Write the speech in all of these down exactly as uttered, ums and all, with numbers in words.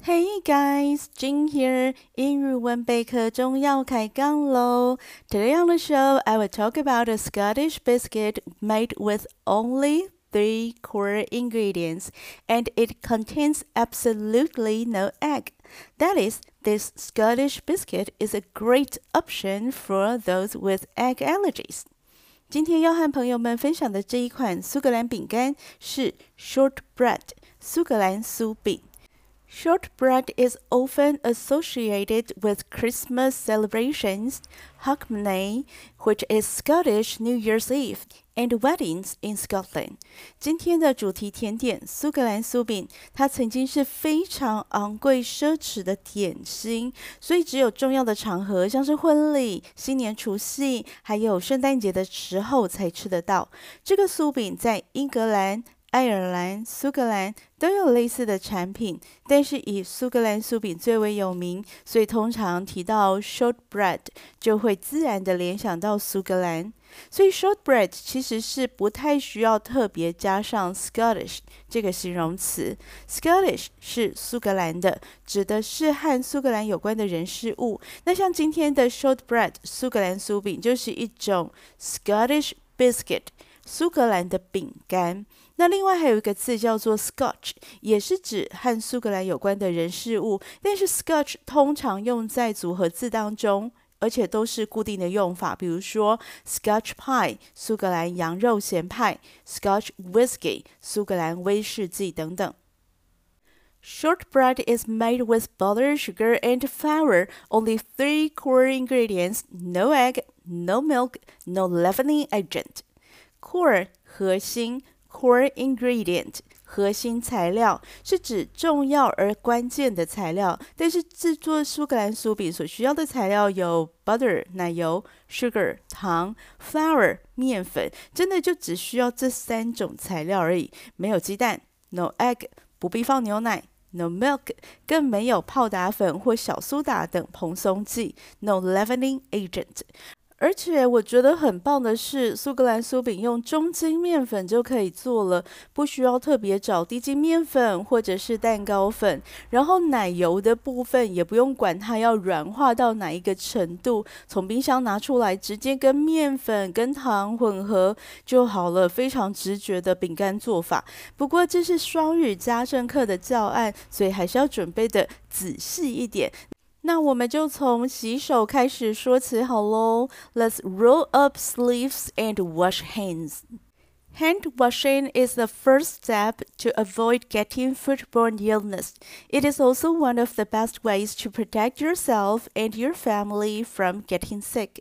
Hey guys, Jing here. 英語文備課中要開槓嘍. Today on the show, I will talk about a Scottish biscuit made with only three core ingredients, and it contains absolutely no egg. That is, this Scottish biscuit is a great option for those with egg allergies. 今天要和朋友們分享的這一款蘇格蘭餅乾是 shortbread 蘇格蘭酥餅。Shortbread is often associated with Christmas celebrations, Hogmanay, which is Scottish New Year's Eve, and weddings in Scotland. 今天的主題甜點蘇格蘭酥餅，它曾經是非常昂貴奢侈的點心，所以只有重要的場合，像是婚禮、新年除夕，還有聖誕節的時候才吃得到。這個酥餅在英格蘭、愛爾蘭、蘇格蘭都有類似的產品，但是以蘇格蘭酥餅最為有名，所以通常提到 shortbread 就會自然的聯想到蘇格蘭。所以 shortbread 其實是不太需要特別加上 Scottish 這個形容詞。Scottish 是蘇格蘭的，指的是和蘇格蘭有關的人事物。那像今天的 shortbread 蘇格蘭酥餅就是一種 Scottish biscuit 蘇格蘭的餅乾。那另外還有一個字叫做 Scotch， 也是指和蘇格蘭有關的人事物，但是 Scotch 通常用在組合字當中，而且都是固定的用法，比如說 Scotch pie 蘇格蘭羊肉鹹派， Scotch whisky 蘇格蘭威士忌等等。Shortbread is made with butter, sugar, and flour. Only three core ingredients: no egg, no milk, no leavening agent. Core 核心。Core ingredient 核心材料是指重要而關鍵的材料，但是製作蘇格蘭酥餅所需要的材料有 butter 奶油、sugar 糖、flour 麵粉，真的就只需要這三種材料而已。沒有雞蛋 no egg 不必放牛奶 no milk 更沒有泡打粉或小蘇打等蓬鬆劑 no leavening agent。而且我覺得很棒的是，蘇格蘭酥餅用中筋麵粉就可以做了，不需要特別找低筋麵粉或者是蛋糕粉。然後奶油的部分也不用管它要軟化到哪一個程度，從冰箱拿出來直接跟麵粉跟糖混合就好了，非常直覺的餅乾做法。不過這是雙語家政課的教案，所以還是要準備的仔細一點。那我們就從洗手開始說起好嘍。Let's roll up sleeves and wash hands. Hand washing is the first step to avoid getting foodborne illness. It is also one of the best ways to protect yourself and your family from getting sick.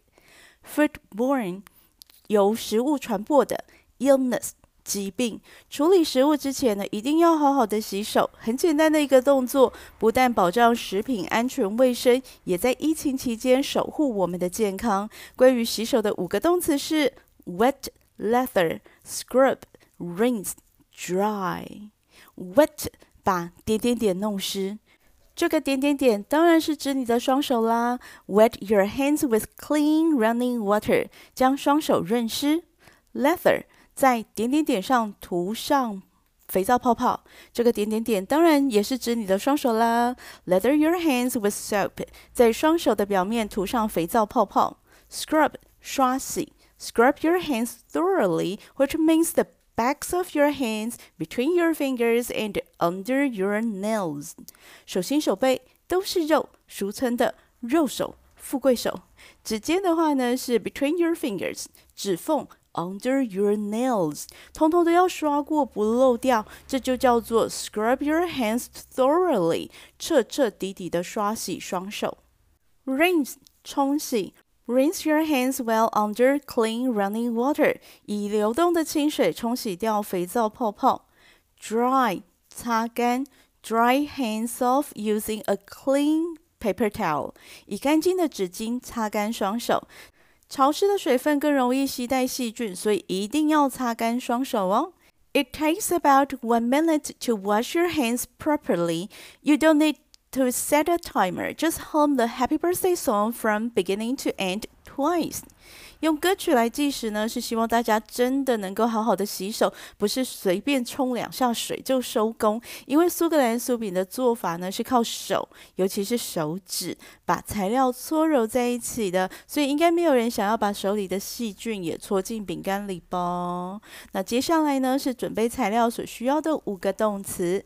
Foodborne 由食物傳播的 illness疾病，處理食物之前呢，一定要好好的洗手。很簡單的一個動作，不但保障食品安全衛生，也在疫情期間守護我們的健康。關於洗手的五個動詞是 wet, lather, scrub, rinse, dry. Wet 把點點點弄濕，這個點點點當然是指你的雙手啦。Wet your hands with clean running water， 將雙手潤濕。Lather在點點點上塗上肥皂泡泡，這個點點點當然也是指你的雙手啦。Lather your hands with soap， 在雙手的表面塗上肥皂泡泡。Scrub 刷洗 ，Scrub your hands thoroughly, which means the backs of your hands, between your fingers and under your nails。手心手背都是肉，俗稱的肉手、富貴手。指尖的話呢是 between your fingers， 指縫。Under your nails， 通通都要刷過，不漏掉，這就叫做 scrub your hands thoroughly， 徹徹底底的刷洗雙手。Rinse 沖洗 ，rinse your hands well under clean running water， 以流動的清水沖洗掉肥皂泡泡。Dry 擦乾 ，dry hands off using a clean paper towel， 以乾淨的紙巾擦乾雙手。潮濕的水分更容易攜帶細菌，所以一定要擦乾雙手哦。It takes about one minute to wash your hands properly. You don't need to set a timer. Just hum the Happy Birthday song from beginning to end twice。用歌曲來計時呢，是希望大家真的能夠好好的洗手，不是隨便沖兩下水就收工。因為蘇格蘭酥餅的做法呢，是靠手，尤其是手指，把材料搓揉在一起的，所以應該沒有人想要把手裡的細菌也搓進餅乾裡吧。那接下來呢，是準備材料所需要的五個動詞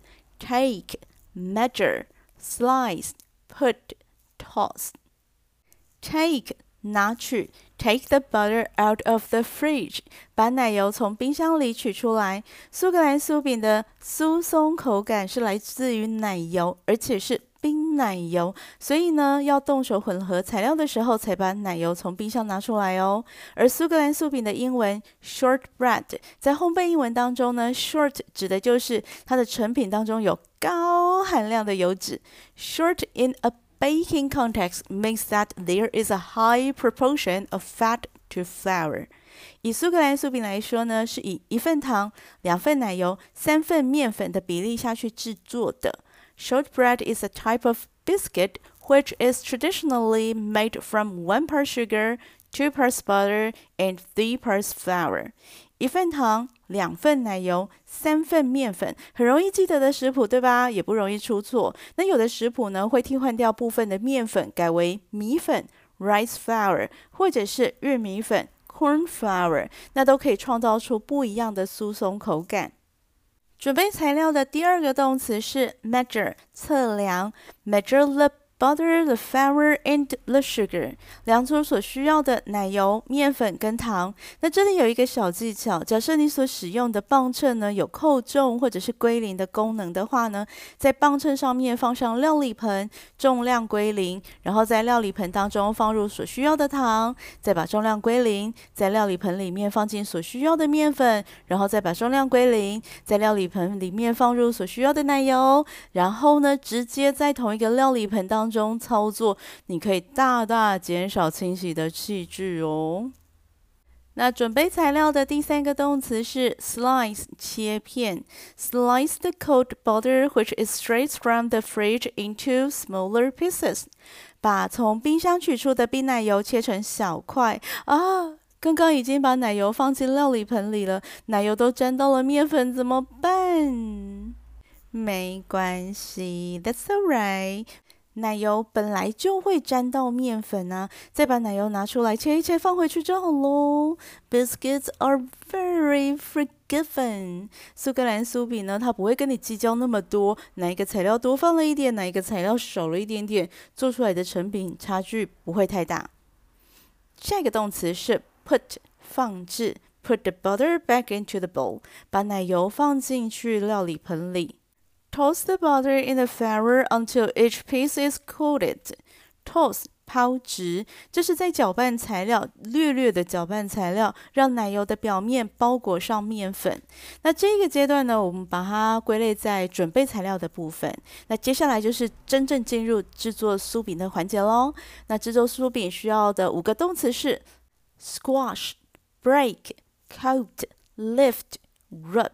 ：take、measure、slice、put、toss。take 拿取 ，take the butter out of the fridge， 把奶油從冰箱裡取出來。蘇格蘭酥餅的酥鬆口感是來自於奶油，而且是冰奶油，所以呢，要動手混合材料的時候，才把奶油從冰箱拿出來哦。而蘇格蘭酥餅的英文 shortbread， 在烘焙英文當中呢 ，short 指的就是它的成品當中有高含量的油脂 ，short in a baking context means that there is a high proportion of fat to flour。以蘇格蘭酥餅來說呢，是以一份糖、兩份奶油、三份麵粉的比例下去製作的。Shortbread is a type of biscuit which is traditionally made from one part sugar, two parts butter, and three parts flour。一份糖，兩份奶油，三份麵粉，很容易記得的食譜，對吧？也不容易出錯。那有的食譜呢，會替換掉部分的麵粉，改為米粉 （rice flour） 或者是玉米粉 （corn flour）， 那都可以創造出不一樣的酥鬆口感。準備材料的第二個動詞是 measure， 測量 ，measure the butter, the flour, and the sugar， 量出所需要的奶油、麵粉跟糖。那這裡有一個小技巧，假設你所使用的磅秤呢有扣重或者是歸零的功能的話呢，在磅秤上面放上料理盆，重量歸零，然後在料理盆當中放入所需要的糖，再把重量歸零，在料理盆裡面放進所需要的麵粉，然後再把重量歸零，在料理盆裡面放入所需要的奶油，然後呢，直接在同一個料理盆當中中操作，你可以大大減少清洗的器具哦。那準備材料的第三個動詞是 slice， 切片。Slice the cold butter which is straight from the fridge into smaller pieces。把從冰箱取出的冰奶油切成小塊啊！剛剛已經把奶油放進料理盆裡了，奶油都沾到了麵粉，怎麼辦？沒關係 ，That's alright。奶油本來就會沾到麵粉啊，再把奶油拿出來切一切放回去就好咯。Biscuits are very forgiving。蘇格蘭酥餅呢，它不會跟你計較那麼多，哪一個材料多放了一點，哪一個材料少了一點點，做出來的成品差距不會太大。下一個動詞是 put， 放置。Put the butter back into the bowl， 把奶油放進去料理盆裡。Toss the butter in the flour until each piece is coated. Toss 拋擲，這是在攪拌材料，略略的攪拌材料，讓奶油的表面包裹上麵粉。那這個階段呢，我們把它歸類在準備材料的部分。那接下來就是真正進入製作酥餅的環節咯。那製作酥餅需要的五個動詞是 squash, break, coat, lift, rub.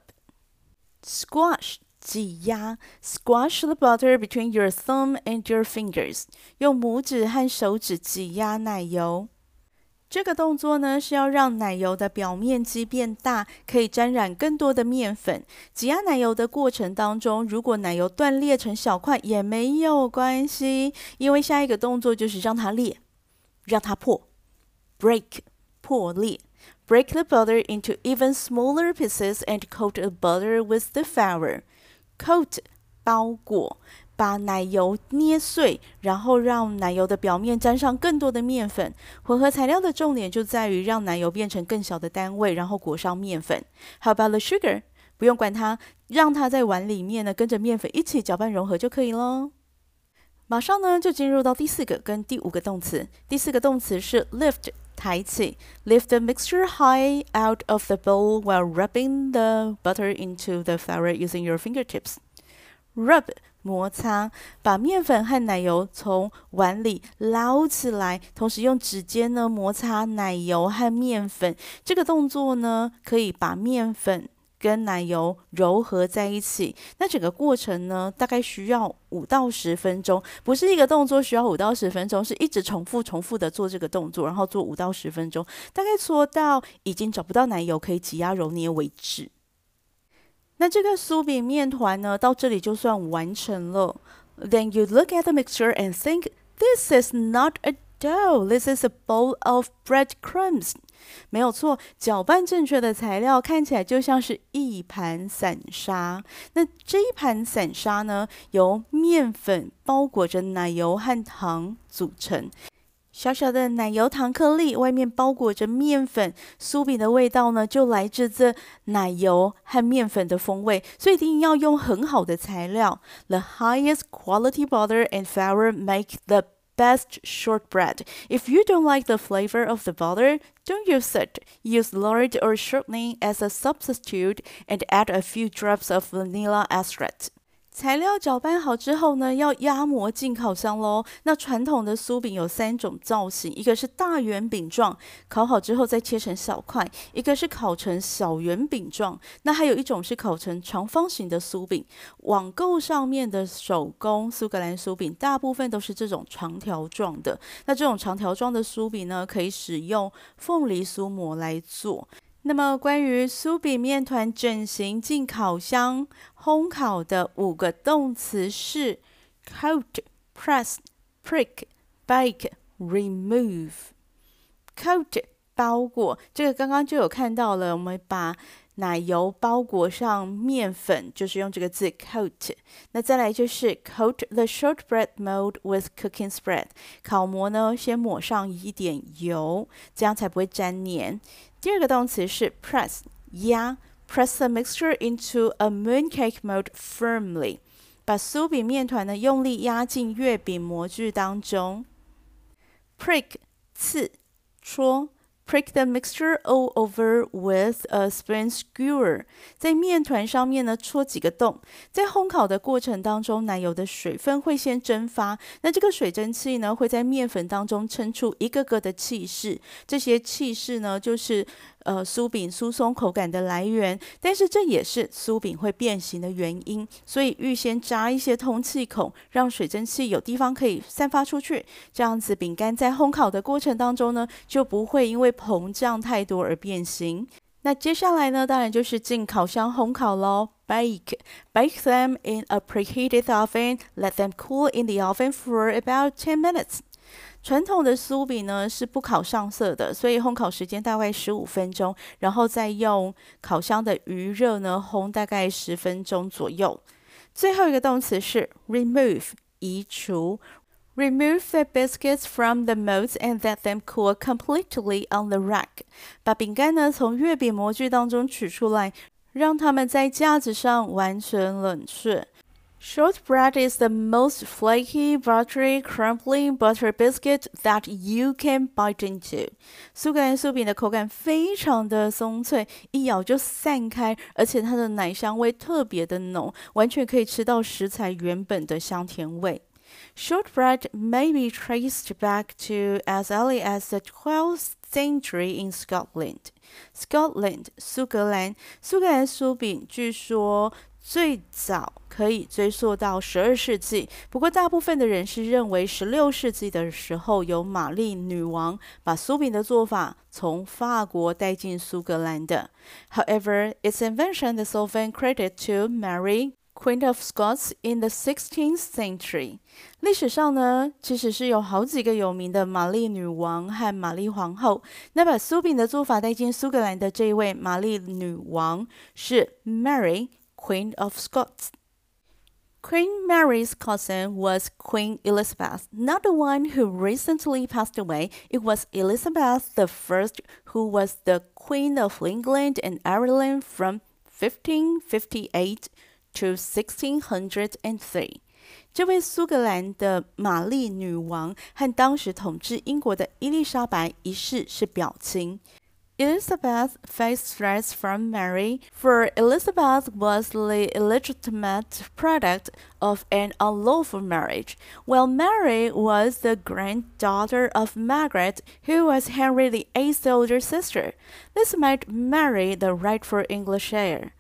Squash擠壓 ，squash the butter between your thumb and your fingers， 用拇指和手指擠壓奶油。這個動作呢，是要讓奶油的表面積變大，可以沾染更多的麵粉。擠壓奶油的過程當中，如果奶油斷裂成小塊也沒有關係，因為下一個動作就是讓它裂，讓它破 ，break 破裂。Break the butter into even smaller pieces and coat the butter with the flour.Coat 包裹，把奶油捏碎，然後讓奶油的表面沾上更多的麵粉。混合材料的重點就在於讓奶油變成更小的單位，然後裹上麵粉。How about the sugar？ 不用管它，讓它在碗裡面呢跟着麵粉一起攪拌融合就可以咯。馬上呢就進入到第四個跟第五個動詞。第四個動詞是 lift。抬起 ，lift the mixture high out of the bowl while rubbing the butter into the flour using your fingertips. Rub 摩擦，把麵粉和奶油從碗裡撈起來，同時用指尖呢摩擦奶油和麵粉。這個動作呢，可以把麵粉跟奶油揉合在一起。那整個過程呢，大概需要五到十分鐘，不是一個動作需要五到十分鐘，是一直重複重複的做這個動作，然後做五到十分鐘，大概做到已經找不到奶油可以擠壓揉捏為止。那這個酥餅麵團呢，到這裡就算完成了。Then you look at the mixture and think, this is not a dough, this is a bowl of breadcrumbs. 沒有錯，攪拌正確的材料看起來就像是一盤散沙。那這一盤散沙呢，由麵粉包裹着奶油和糖組成。小小的奶油糖顆粒，外面包裹着麵粉，酥餅的味道呢，就來自這奶油和麵粉的風味，所以一定要用很好的材料。The highest quality butter and flour make the best shortbread. If you don't like the flavor of the butter, don't use it. Use lard or shortening as a substitute and add a few drops of vanilla extract. 材料攪拌好之後呢，要壓模進烤箱咯。那傳統的酥餅有三種造型，一個是大圓餅狀，烤好之後再切成小塊；一個是烤成小圓餅狀，那還有一種是烤成長方形的酥餅。網購上面的手工蘇格蘭酥餅，大部分都是這種長條狀的。那這種長條狀的酥餅呢，可以使用鳳梨酥模來做。那麼關於酥餅麵團整形進烤箱烘烤的五個動詞是 coat, press, prick, bake, remove. Coat 包裹，這個剛剛就有看到了，我們把奶油包裹上麵粉，就是用這個字 coat。那再來就是 coat the shortbread mold with cooking spread。烤模呢，先抹上一點油，這樣才不會粘黏。第二個動詞是 press， 壓 ，press the mixture into a mooncake mold firmly， 把酥餅麵團呢用力壓進月餅模具當中。prick， 刺，戳。Prick the mixture all over with a spoon skewer， 在麵團上面呢戳幾個洞。在烘烤的過程當中，奶油的水分會先蒸發，那這個水蒸氣呢會在麵粉當中撐出一個個的氣勢，這些氣勢呢就是呃酥餅酥鬆口感的來源，但是這也是酥餅會變形的原因，所以預先扎一些通氣孔，讓水蒸氣有地方可以散發出去，這樣子餅乾在烘烤的過程當中呢就不會因為膨脹太多而變形。那接下來呢，當然就是進烤箱烘烤咯。Bake, bake them in a preheated oven. Let them cool in the oven for about ten minutes. 傳統的酥餅呢是不烤上色的，所以烘烤時間大概十五分鐘，然後再用烤箱的餘熱呢烘大概十分鐘左右。最後一個動詞是 remove， 移除。Remove the biscuits from the molds and let them cool completely on the rack. 把餅乾呢從月餅模具當中取出來，讓它們在架子上完全冷卻。Shortbread is the most flaky, buttery, crumbly butter biscuit that you can bite into. 蘇格蘭酥餅的口感非常的鬆脆，一咬就散開，而且它的奶香味特別的濃，完全可以吃到食材原本的香甜味。Shortbread may be traced back to as early as the twelfth century in Scotland. Scotland, 蘇格蘭，蘇格蘭酥餅據說最早可以追溯到十二世紀，不過大部分的人是認為十六世紀的時候，由瑪麗女王把酥餅的做法從法國帶進蘇格蘭的。However, its invention is often credited to Mary, Queen of Scots in the sixteenth century. 歷史上呢，其實是有好幾個有名的瑪麗女王和瑪麗皇後。那把酥餅的做法帶進蘇格蘭的這一位瑪麗女王是 Mary, Queen of Scots. Queen Mary's cousin was Queen Elizabeth, not the one who recently passed away. It was Elizabeth the First, who was the Queen of England and Ireland from fifteen fifty-eight to sixteen oh three. 這位蘇格蘭的瑪麗女王和當時統治英國的伊麗莎白一世是表親。Elizabeth faced threats from Mary, for Elizabeth was the illegitimate product of an unlawful marriage, while Mary was the granddaughter of Margaret, who was Henry the Eighth's older sister. This made Mary the rightful English heir.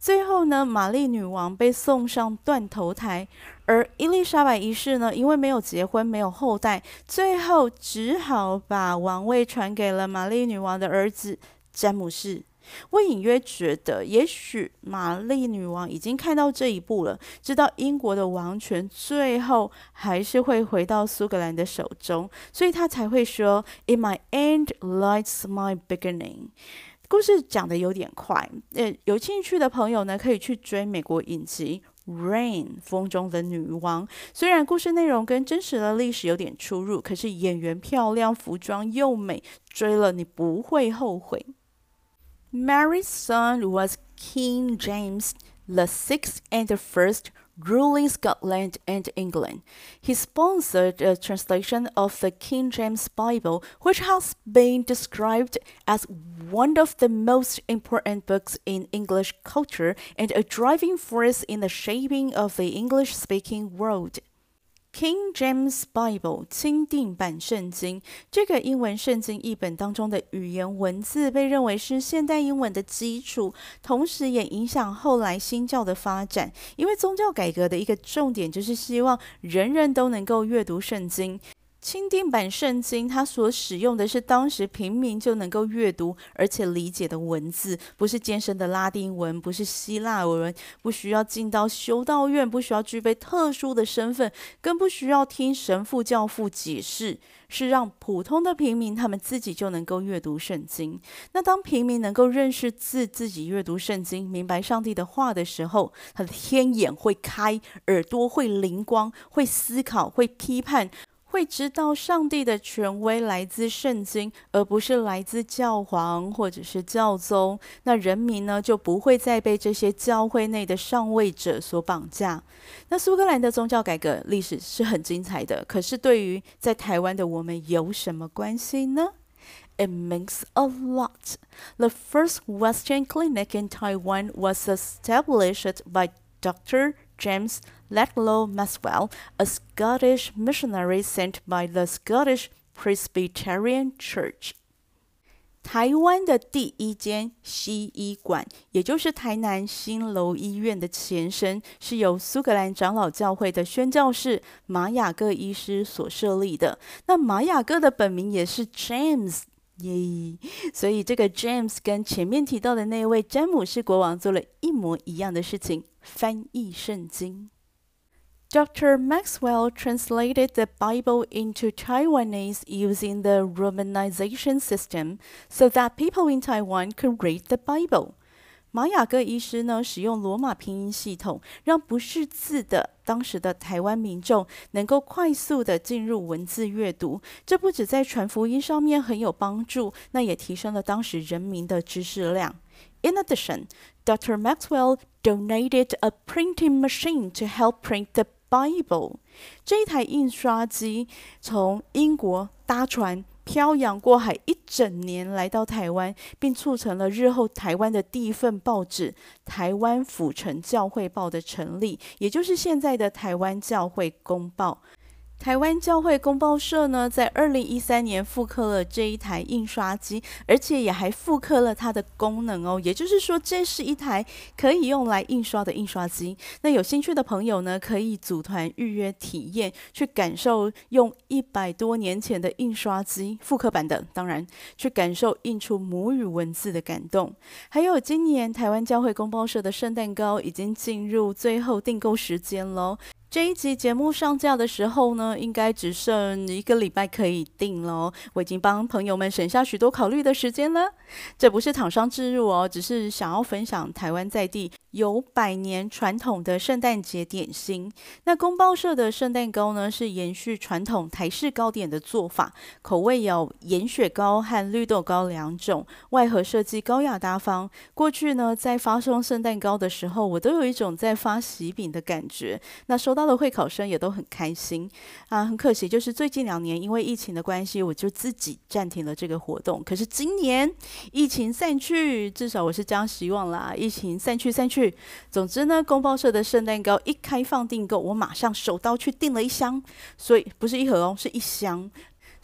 最後呢，瑪麗女王被送上斷頭台，而伊麗莎白一世呢，因為沒有結婚，沒有後代，最後只好把王位傳給了瑪麗女王的兒子詹姆士。我隱約覺得，也許瑪麗女王已經看到這一步了，知道英國的王權最後還是會回到蘇格蘭的手中，所以她才會說 "In my end lies my beginning"。故事講得有點快，呃，有興趣的朋友呢，可以去追美國影集《Reign》風中的女王。雖然故事內容跟真實的歷史有點出入，可是演員漂亮，服裝又美，追了你不會後悔。Mary's son was King James the Sixth and the First, ruling Scotland and England. He sponsored a translation of the King James Bible, which has been described as one of the most important books in English culture and a driving force in the shaping of the English-speaking world.King James Bible 欽定版聖經，這個英文聖經譯本當中的語言文字被認為是現代英文的基礎，同時也影響後來新教的發展。因為宗教改革的一個重點就是希望人人都能夠閱讀聖經。欽定版聖經，它所使用的是當時平民就能夠閱讀而且理解的文字，不是艱深的拉丁文，不是希臘文，不需要進到修道院，不需要具備特殊的身份，更不需要聽神父教父解釋，是讓普通的平民他們自己就能夠閱讀聖經。那當平民能夠認識字，自己閱讀聖經，明白上帝的話的時候，他的天眼會開，耳朵會靈光，會思考，會批判，會知道上帝的權威來自聖經，而不是來自教皇或者是教宗。那人民呢，就不會再被這些教會內的上位者所綁架。那蘇格蘭的宗教改革歷史是很精彩的，可是對於在台灣的我們有什麼關係呢？ It means a lot. The first Western clinic in Taiwan was established by Doctor James Ledlow Maxwell, a Scottish missionary sent by the Scottish Presbyterian Church. 台灣的第一間西醫館，也就是台南新樓醫院的前身，是由蘇格蘭長老教會的宣教士馬雅各醫師所設立的。那馬雅各的本名也是 James。耶、yeah. 所以這個 James 跟前面提到的那位詹姆士國王做了一模一樣的事情，翻譯聖經。Doctor Maxwell translated the Bible into Taiwanese using the Romanization system so that people in Taiwan could read the Bible. 馬雅各醫師呢，使用羅馬拼音系統，讓不識字的當時的台灣民眾能夠快速的進入文字閱讀。這不止在傳福音上面很有幫助，那也提升了當時人民的知識量。In addition, Doctor Maxwell donated a printing machine to help print the Bible. 這一台印刷機從英國搭船漂洋過海一整年來到台灣，並促成了日後台灣的第一份報紙《台灣府城教會報》的成立，也就是現在的台灣教會公報。台灣教會公報社呢，在二零一三年復刻了這一台印刷機，而且也還復刻了它的功能哦。也就是說，這是一台可以用來印刷的印刷機。那有興趣的朋友呢，可以組團預約體驗，去感受用一百多年前的印刷機復刻版的，當然去感受印出母語文字的感動。還有，今年台灣教會公報社的聖誕糕已經進入最後訂購時間嘍。這一集節目上架的時候呢，應該只剩一個禮拜可以訂了。我已經幫朋友們省下許多考慮的時間了。這不是廠商置入哦，只是想要分享台灣在地有百年傳統的聖誕節點心。那公報社的聖誕糕呢，是延續傳統台式糕點的做法，口味有鹽雪糕和綠豆糕兩種，外盒設計高雅大方。過去呢，在發送聖誕糕的時候，我都有一種在發喜餅的感覺。那收到的會考生也都很開心啊，很可惜，就是最近兩年因為疫情的關係，我就自己暫停了這個活動。可是今年疫情散去，至少我是這樣希望啦，疫情散去散去。總之呢，公報社的聖誕糕一開放訂購，我馬上手刀去訂了一箱，所以不是一盒哦，是一箱。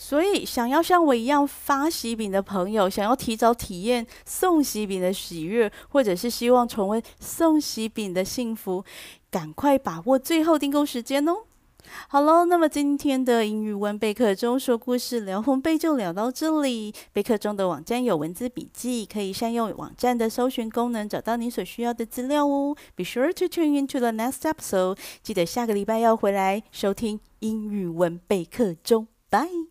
所以，想要像我一樣發喜餅的朋友，想要提早體驗送喜餅的喜悅，或者是希望重溫送喜餅的幸福，趕快把握最後訂購時間哦！好嘍，那麼今天的英語文備課中說故事聊烘焙就聊到這裡。備課中的網站有文字筆記，可以善用網站的搜尋功能找到你所需要的資料哦。Be sure to tune into the next episode。記得下個禮拜要回來收聽英語文備課中。Bye。